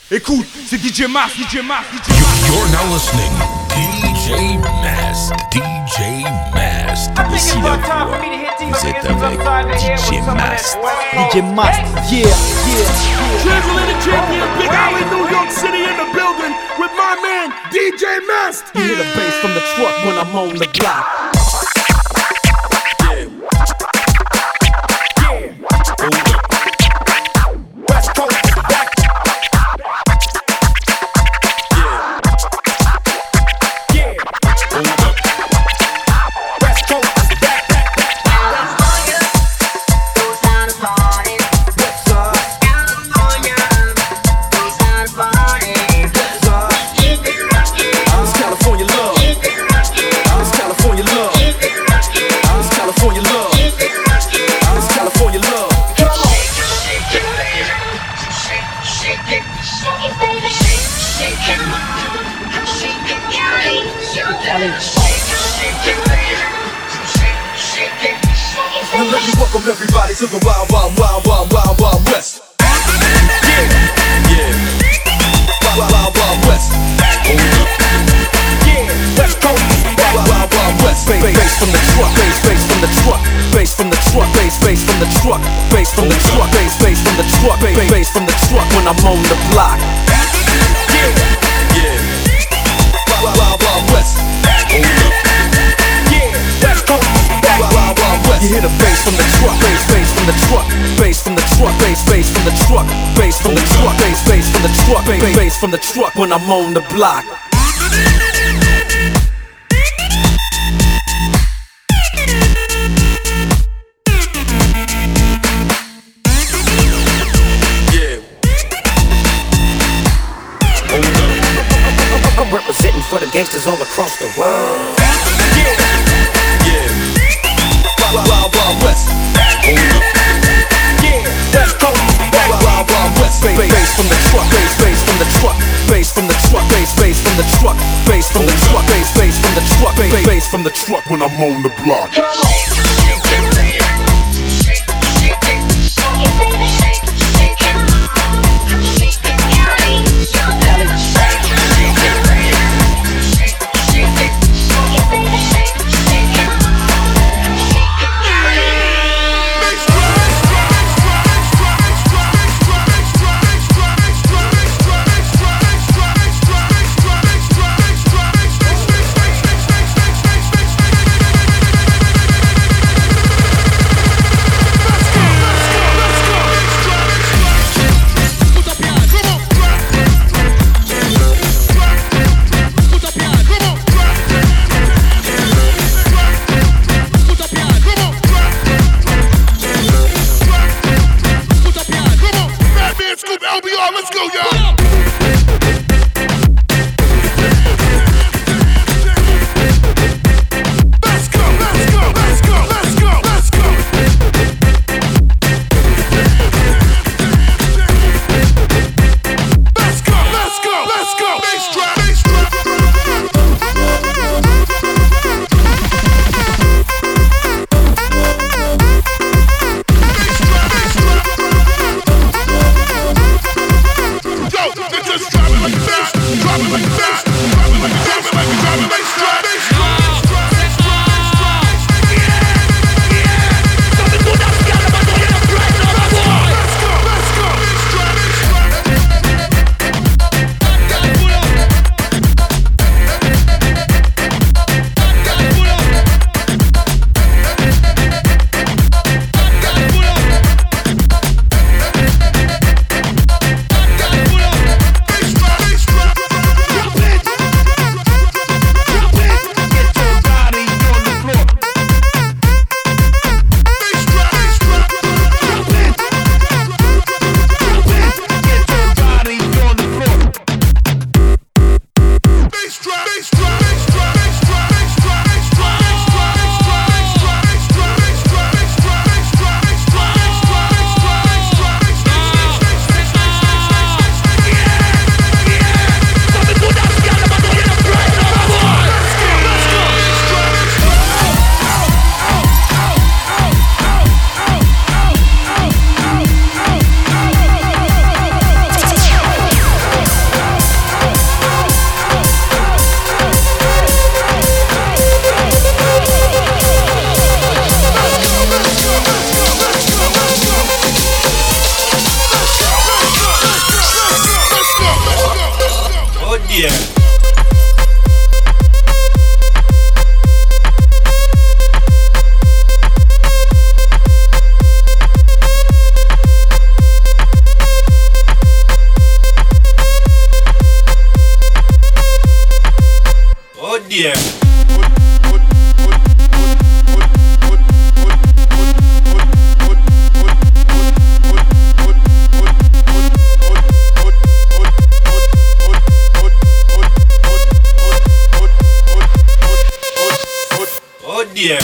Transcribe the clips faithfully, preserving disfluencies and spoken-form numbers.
Écoute, c'est D J Mas, D J Mas, D J Mas. You're now listening D J Mas, D J Mas. Ici la voix, vous êtes avec D J Mas. D J Mas, yeah, yeah. Transatlantic champion, Big Alley, New York City in the building with my man D J Mas. You hear the bass from the truck when I'm on the block. Let me welcome everybody to the wild, wild, wild, wild, wild, wild west. Yeah, yeah. Wild, wild, wild west. Yeah, West Coast. Wild, wild, wild west. Bass, bass from the truck, bass, bass from the truck, bass from the truck, bass, bass from the truck, bass from the truck, bass, bass from the truck, bass, bass from the truck when I'm on the block. Yeah, yeah. Wild, wild, wild west. Yeah, West Coast. Wild, wild, wild west. You hear the bass from the truck, bass, bass from the truck, bass from the truck, bass, bass from the truck, bass from the truck, bass, bass from the truck, bass, bass from the truck when I'm on the block. I'm representing for the gangsters all across the world. Yeah, yeah. Wild, wild, wild west. Yeah, West Coast. Wild, wild, wild west. Bass, bass from the truck, bass, bass from the truck, bass from the truck, bass, bass from the truck, bass from the truck, bass, bass from the truck, bass, bass from the truck when I'm on the block. dear. Oh dear. Oh dear.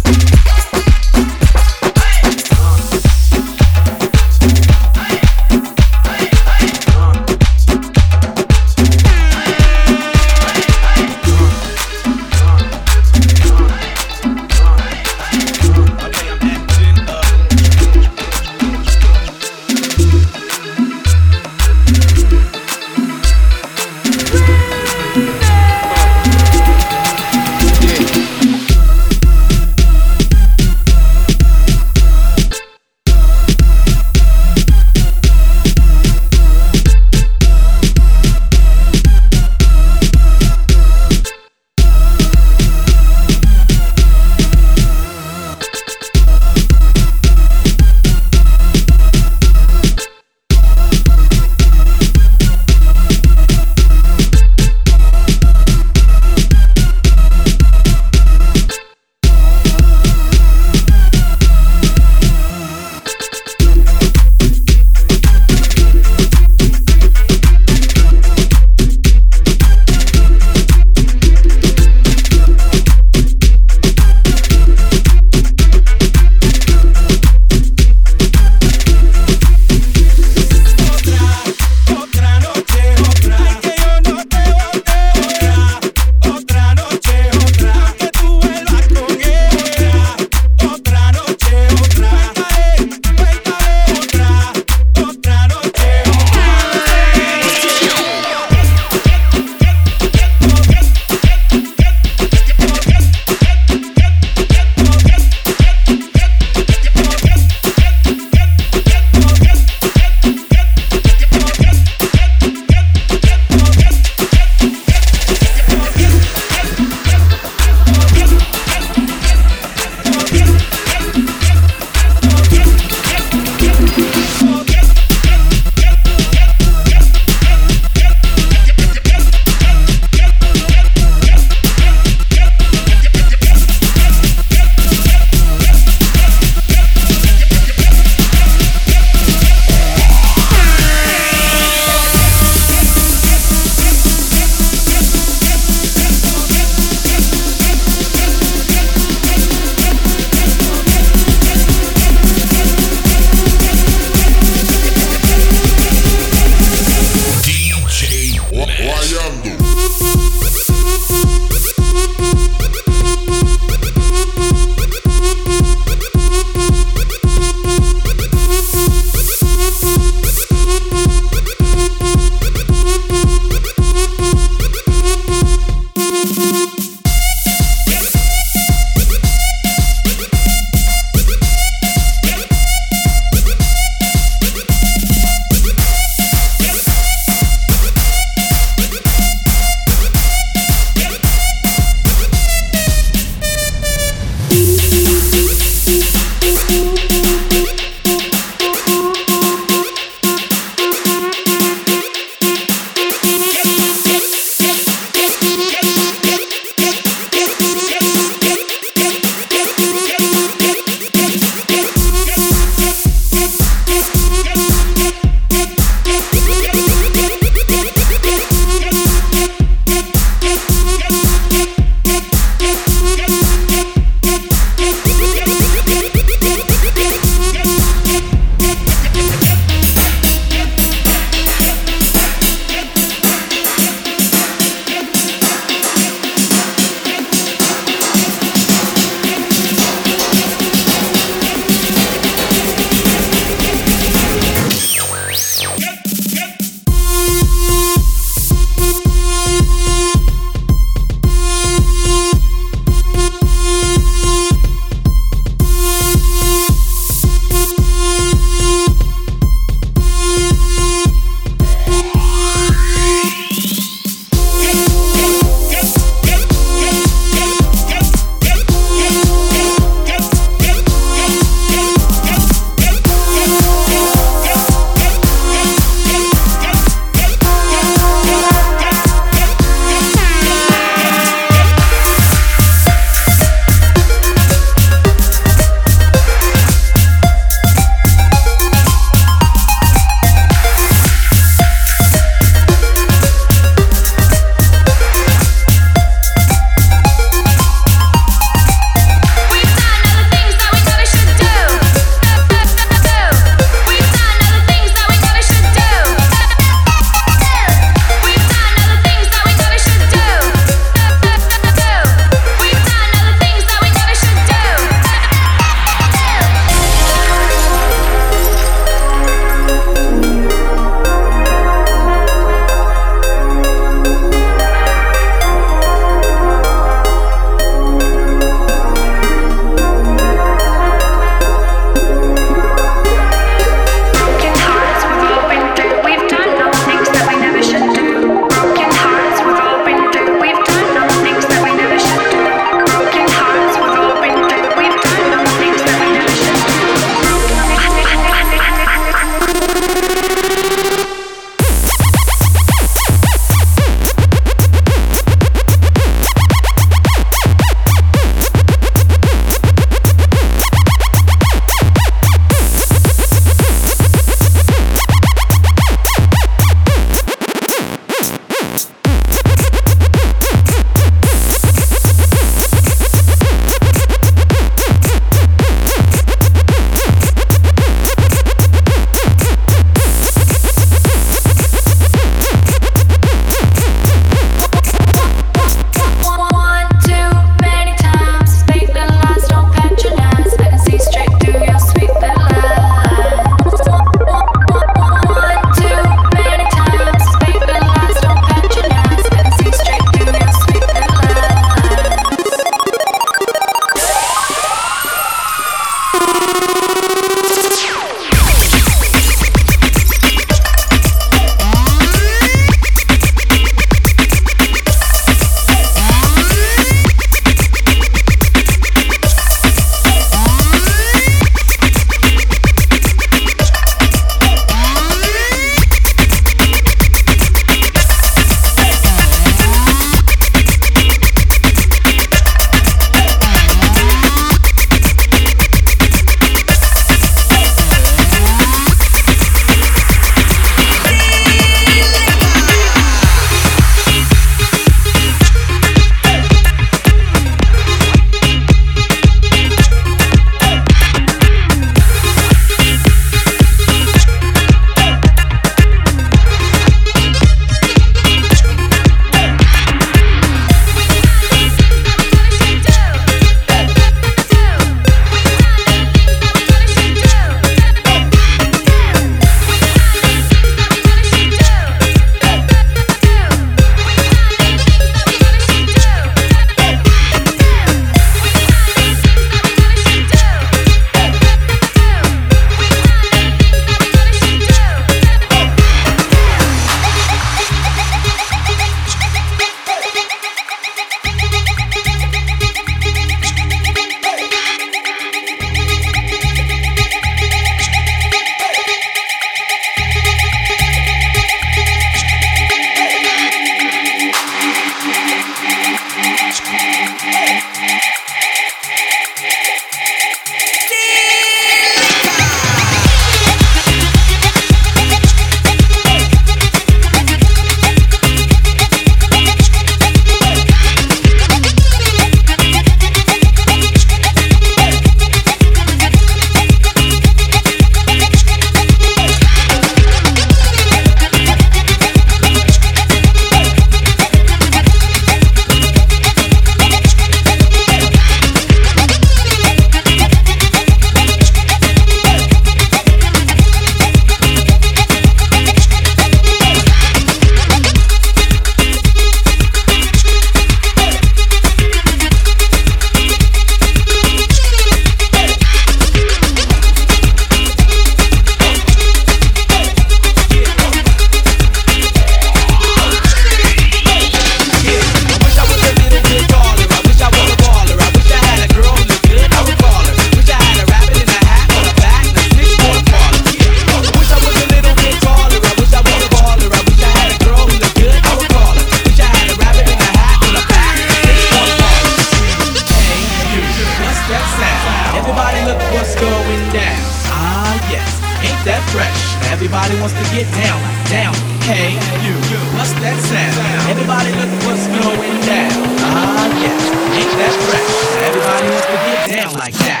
ain't that fresh? Everybody wants to get down, down. Hey, you, what's that sound? Everybody look what's going down. Ah, yes, ain't that fresh? Everybody wants to get down like that.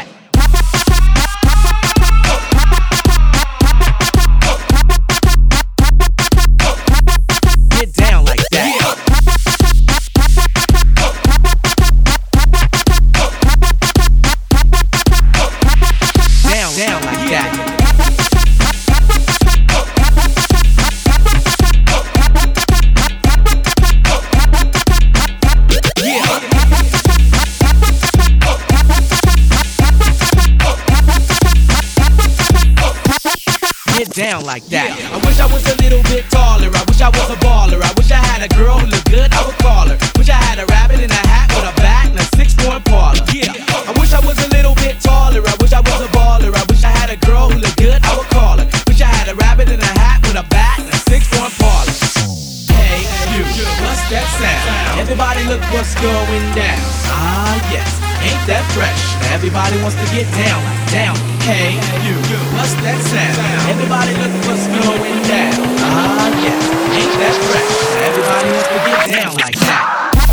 Get down like that. Down, down like that. Get down like that. Yeah. I wish I was a little bit taller. I wish I was a baller. I wish I had a girl who looked good. I would call her. Wish I had a rabbit in a hat with a bat and a six-point parlor. Yeah. I wish I was a little bit taller. I wish I was a baller. I wish I had a girl who looked good. I would call her. Wish I had a rabbit in a hat with a bat and a six-point parlor. Hey, you, what's that sound? Everybody look what's going down. Ah, yes. Ain't that fresh? Everybody wants to get down, down. Hey, you, what's that sound? Everybody look what's going down. Ah, yes, ain't that fresh? Everybody wants to get down like that.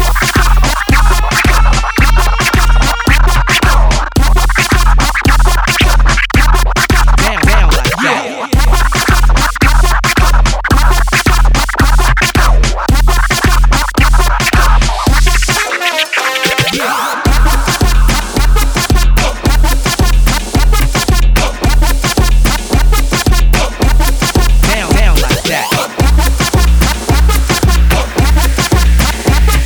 Down, down like that. Down, down like that.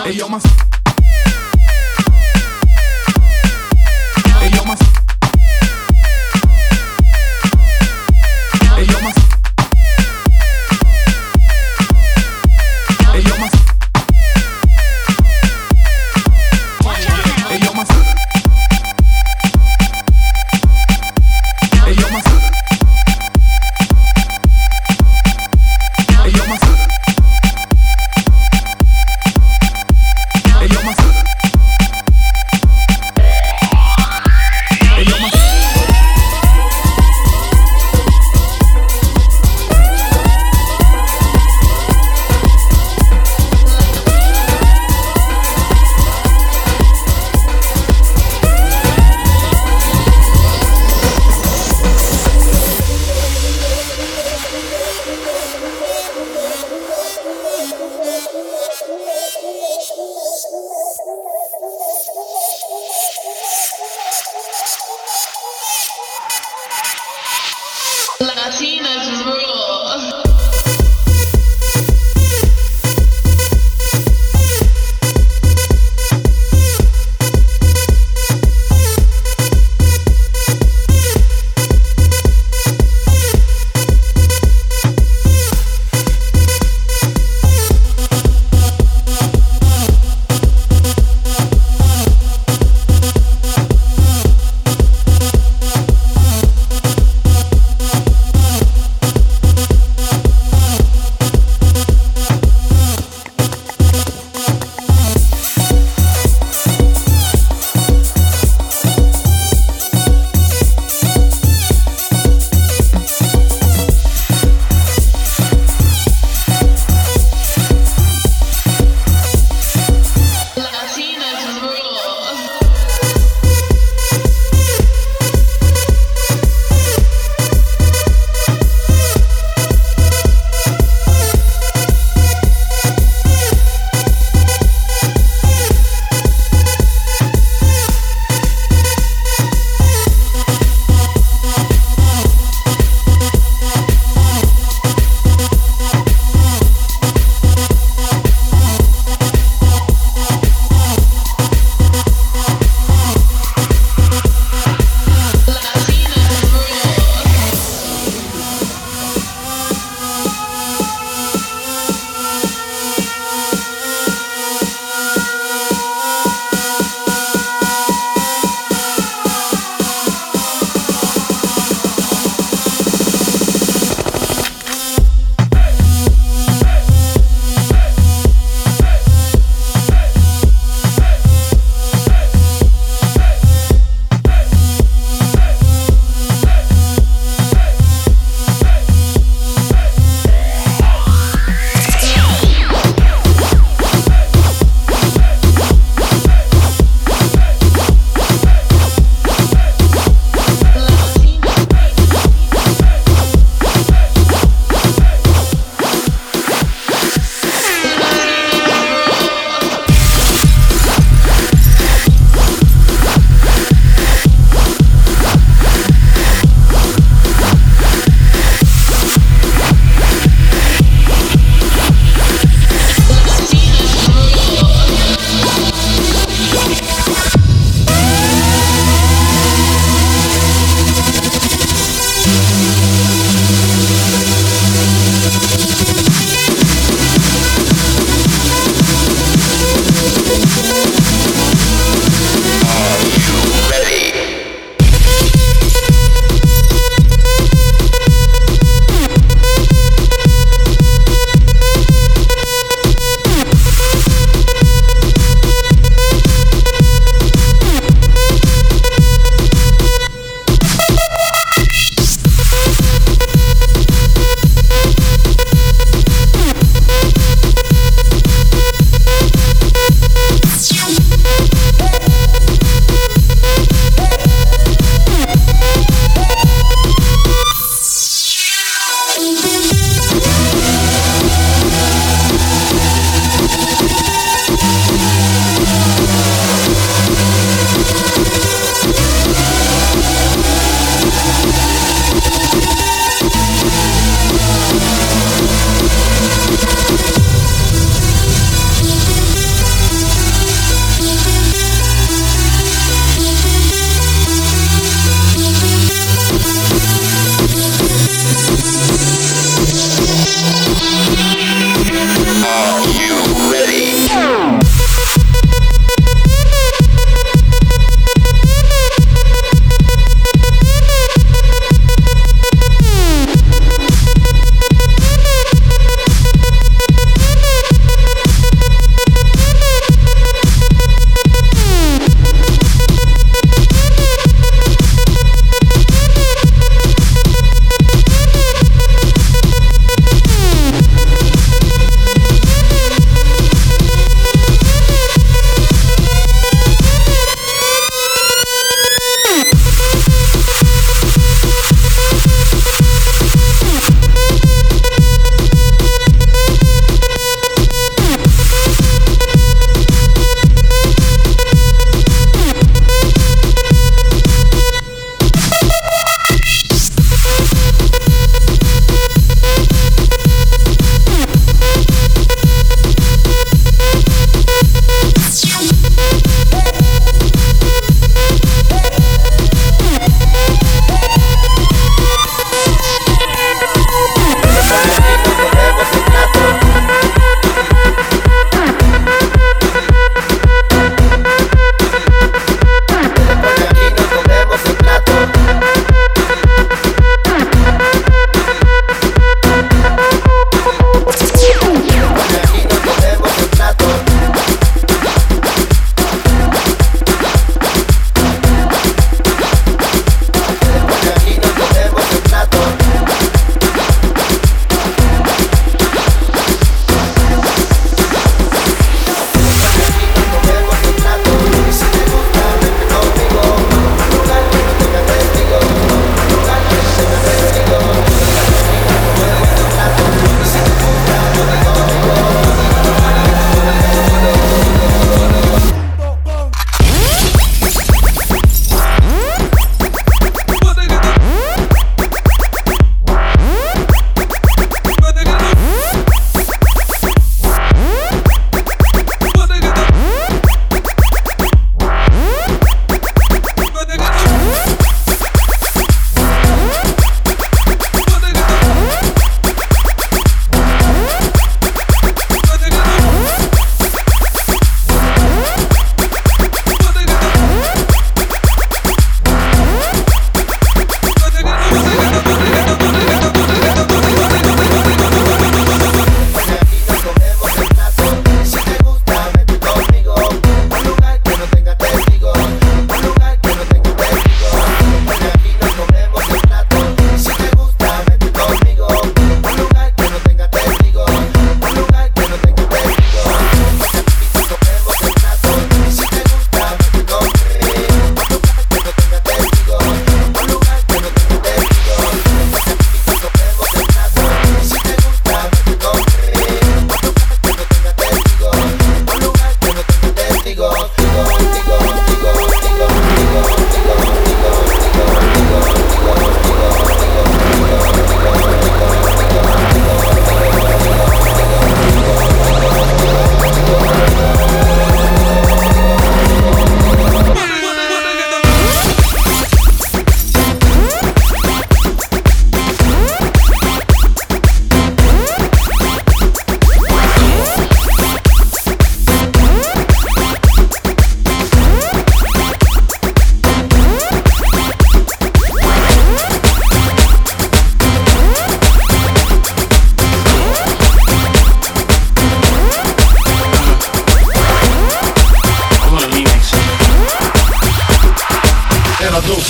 Hey yo, my. Hey yo, my. Hey yo, my. Hey yo, my. Hey yo, my. Hey yo, my. Hey yo, my. Hey yo, my. Hey yo, my. Latinas rule.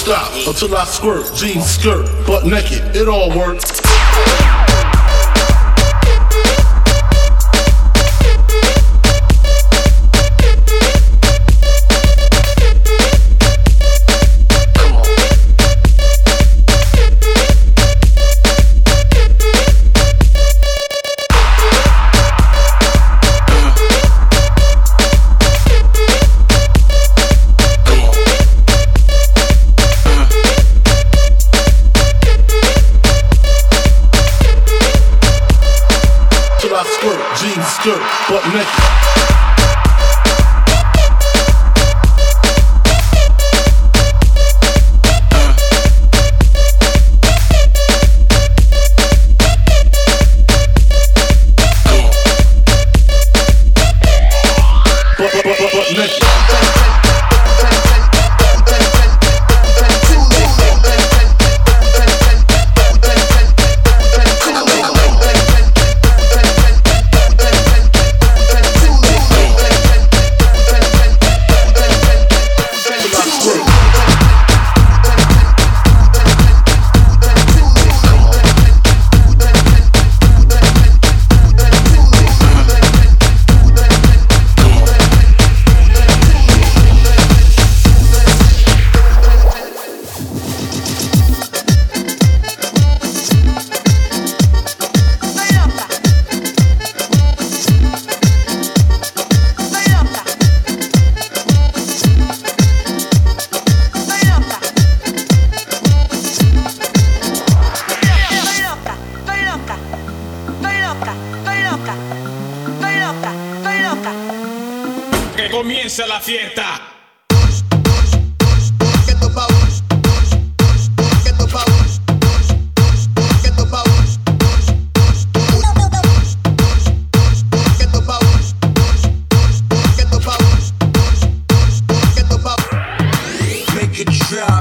stop until I squirt. Jeans, skirt, butt naked, it all works. Skirt, butt naked. Butt, butt, butt, butt naked. Que comience la fiesta. Make it drop.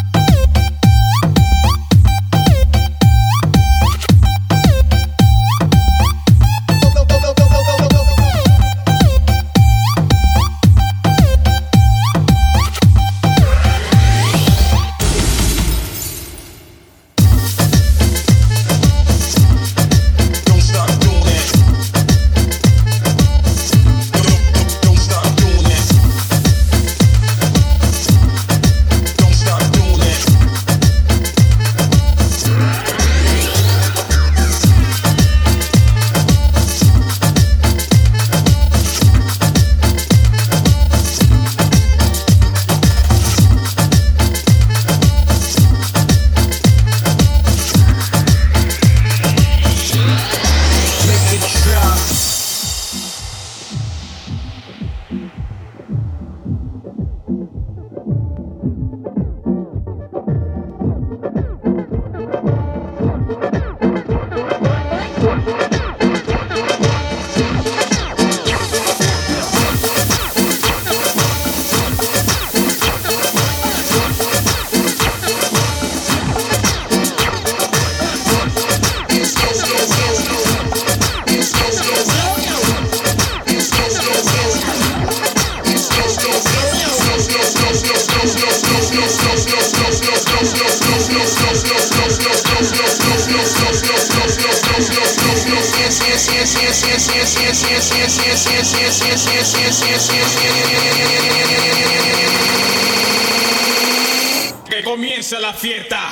Que comience la fiesta.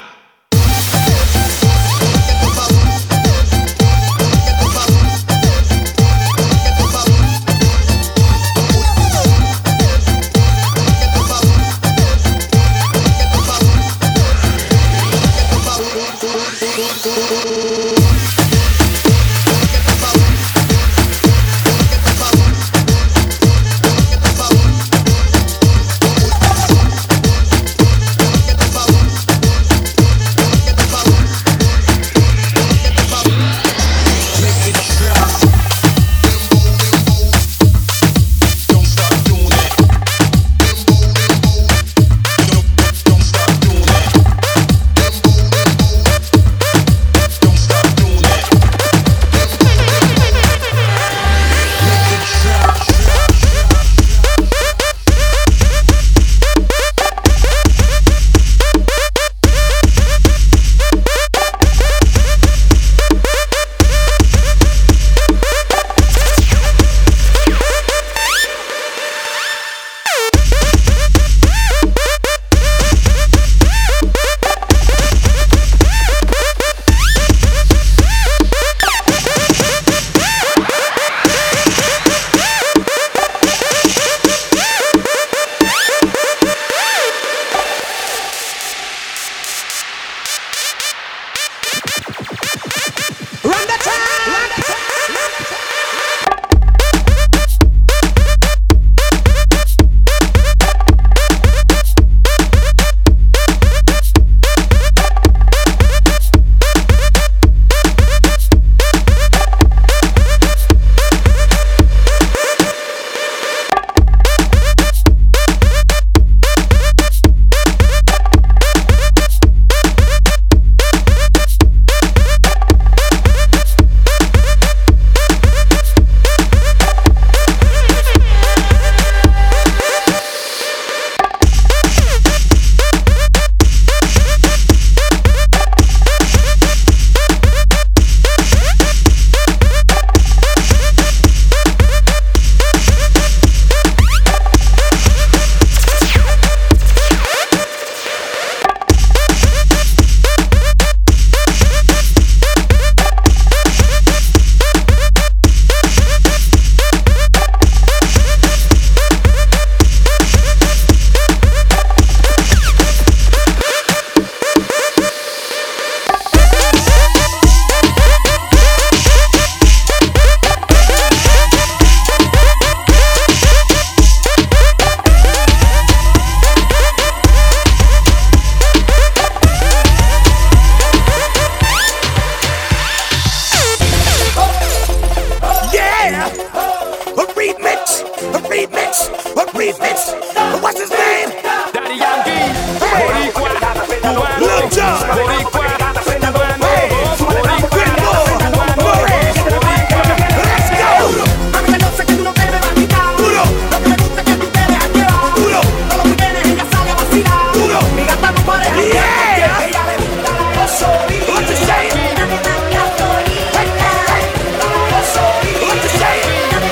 remix, a remix. What's his name? Daddy Yankee, Boricua, Cubano, Lil Jon, Boricua, Cubano, Hey, Boricua, Cubano, let's go. A mí me gusta que tú no te me vas a quitar. Duro, Lo que me gusta es que tú te dejas llevar. duro, Todos los weekendes ella sale a vacilar. duro. Mi gata no pareja. Yeah. Ella le gusta la gasolina. What you saying? Hey, hey, la gasolina. What you saying?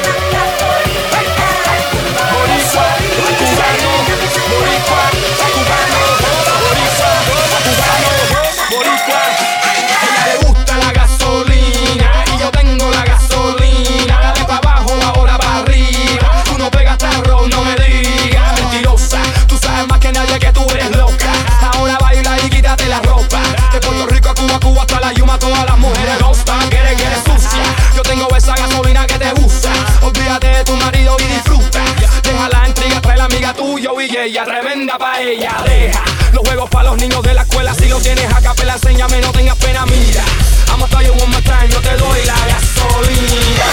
Boricua, Cubano, Boricua, Cubano, Boricua, Cubano, Boricua. Ella le gusta la gasolina y yo tengo la gasolina. Dale pa' abajo, ahora pa' arriba. Tú no pegas tarro, no me digas. Mentirosa, tú sabes más que nadie que tú eres loca. Ahora baila y quítate la ropa. De Puerto Rico a Cuba, Cuba hasta la Yuma, todas las mujeres gustan. Quiere que eres sucia. Yo tengo esa gasolina que te gusta. Olvídate de tu marido y disfruta. Deja la intriga, trae la amiga tuya y ella tremenda pa' ella. Deja los juegos pa' los niños de la escuela. Si lo tienes a capela, enséñame, no tengas pena, mira. I'ma tell you one more time, yo te doy la gasolina.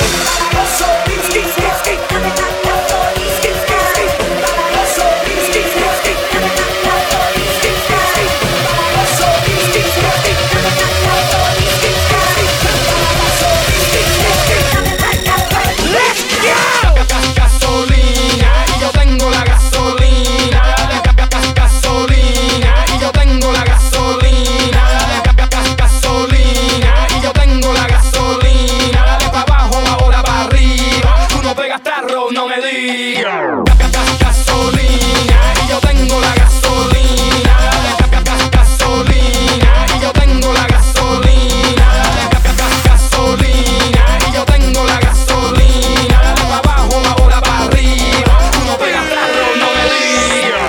Gasolina y yo tengo la gasolina. Gasolina y yo tengo la gasolina. Gasolina y yo tengo la gasolina. Dale pa' abajo, ahora pa' arriba. Tú no pegas tarro, no me digas. Gasolina y yo tengo la gasolina. Gasolina y yo tengo la gasolina. Gasolina y yo tengo la gasolina. Dale pa' abajo, ahora pa' arriba. Tú no pegas tarro, no me digas.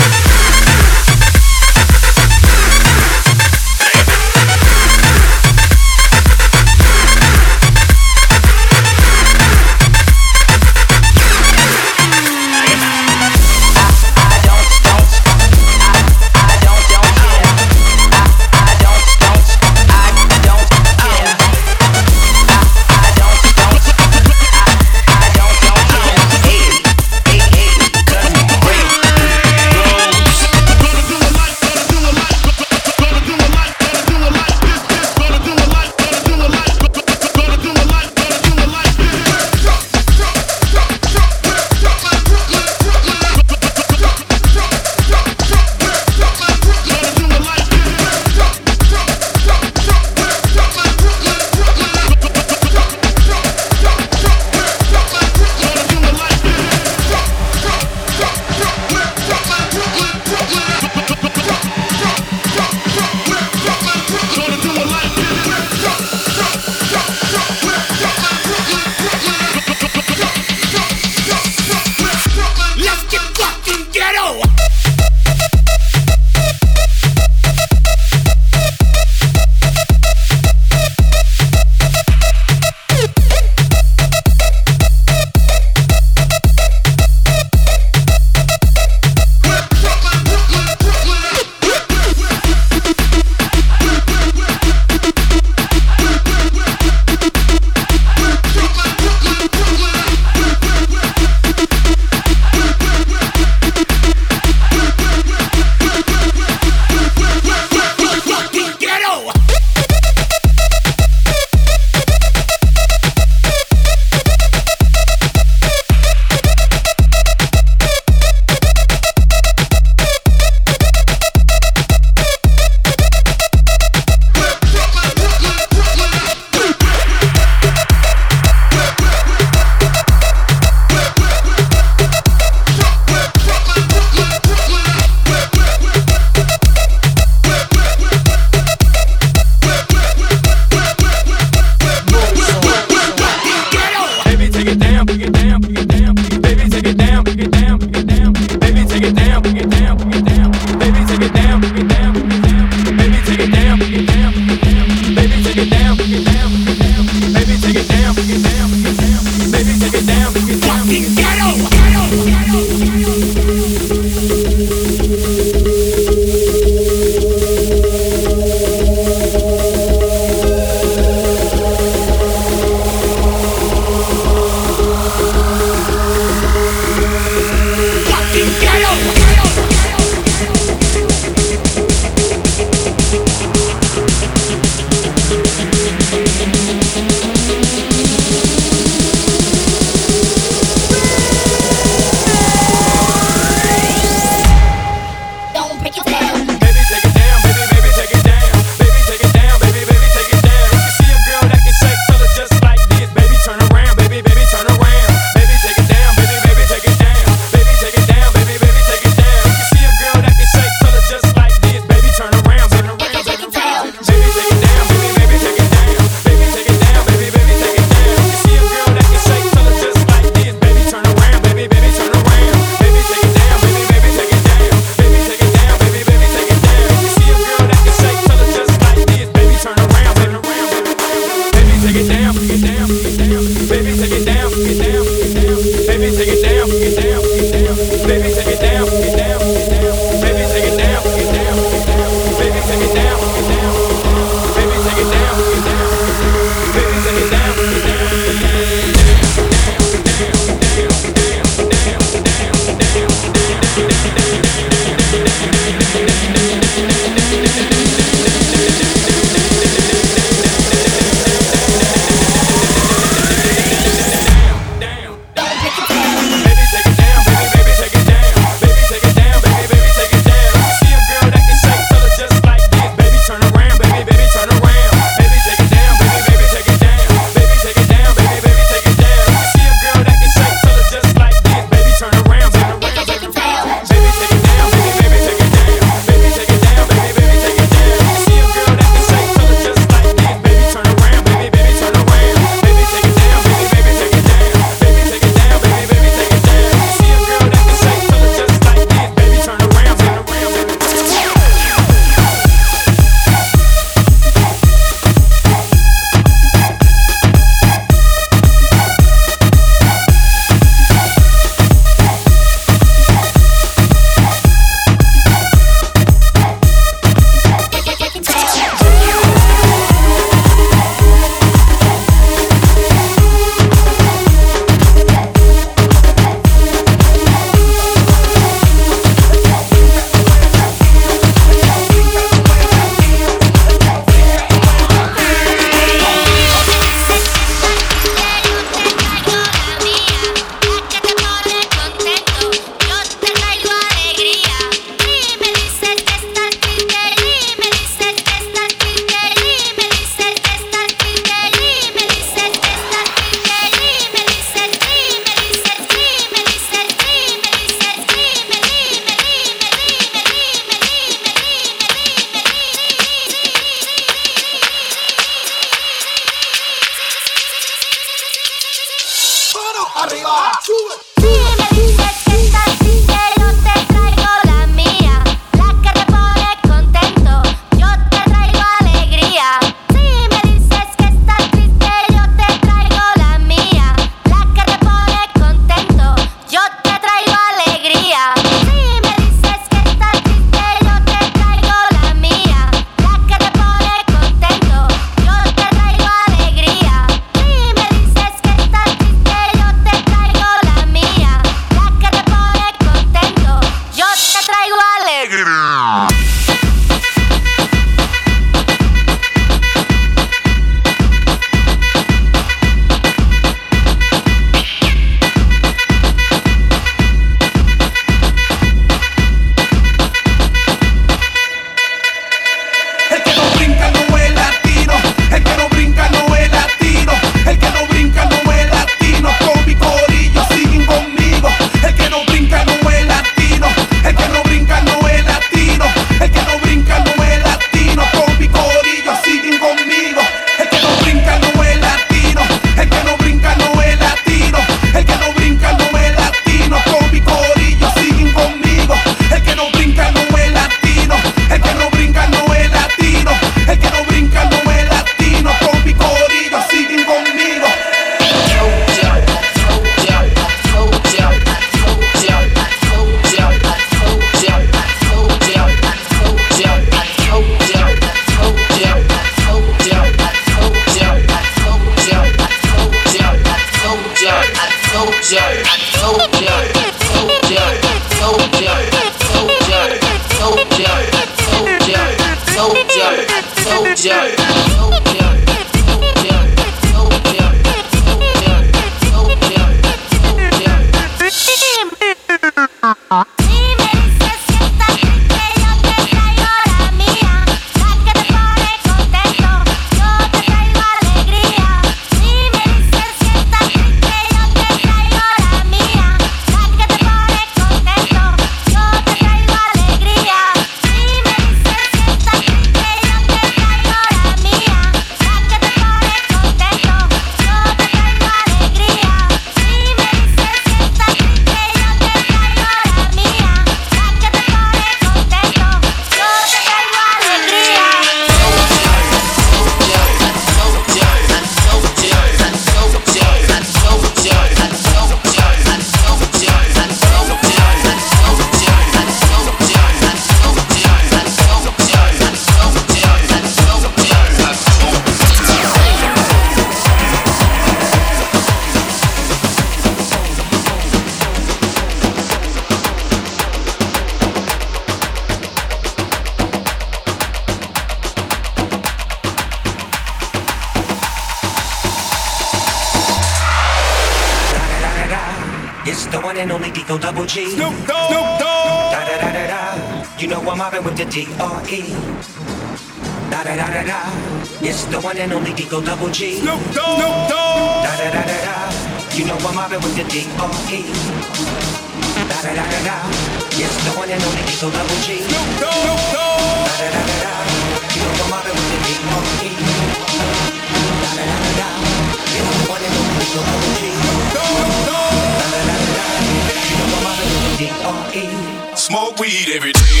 It's the one and only Digo Double G. Snoop Dogg. Snoop Dogg. Da da da da da. You know I'm mobbing with the D R E. Da da da da da. It's the one and only Digo Double G. Snoop Dogg. Snoop Dogg. Da da da da da. You know I'm mobbing with the D R E. Da da da da da. It's the one and only Digo Double G. Snoop Dogg. Snoop Dogg. Da da da da da. You know I'm mobbing with the D R E. Da da da da da. It's the one and only Digo Double G. Snoop Dogg. Da da da da da. You know I'm mobbing with the D R E. Smoke weed every day.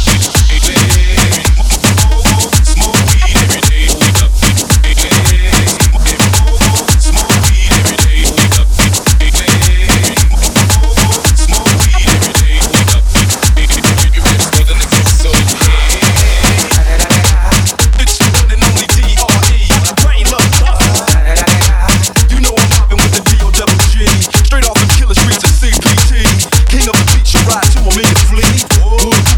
Smoke weed every day. Smoke weed every day. Smoke weed every day. You ready for the next episode? It's the one and only D R E. Brain love tough. You know I'm mobbing with the D O double G. Straight off the killer streets of C P T. King of the beach, you ride to him in your fleet.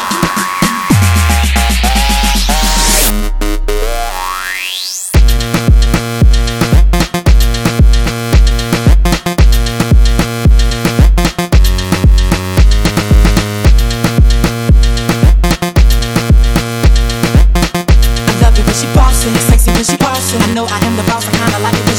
Sexy when she bossing. I know I am the boss, I kinda like it